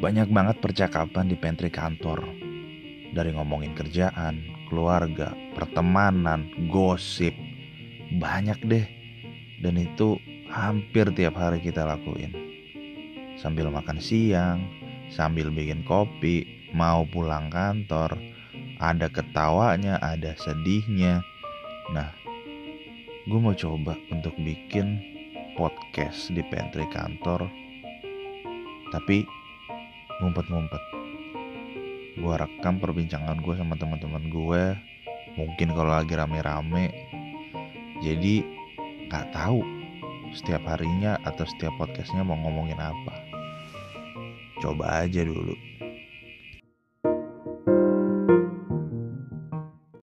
Banyak banget percakapan di pantry kantor. Dari ngomongin kerjaan, keluarga, pertemanan, gosip. Banyak deh. Dan itu hampir tiap hari kita lakuin. Sambil makan siang, sambil bikin kopi, mau pulang kantor. Ada ketawanya, ada sedihnya. Nah, gue mau coba untuk bikin podcast di pantry kantor. Tapi ngumpet-ngumpet. Gue rekam perbincangan gue sama teman-teman gue. Mungkin kalau lagi rame-rame. Jadi gak tahu setiap harinya atau setiap podcastnya mau ngomongin apa. Coba aja dulu.